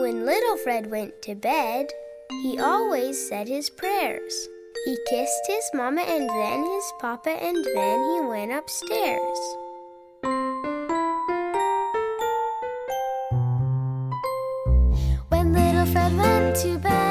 When little Fred went to bed, he always said his prayers. He kissed his mama and then his papa, and then he went upstairs. When little Fred went to bed,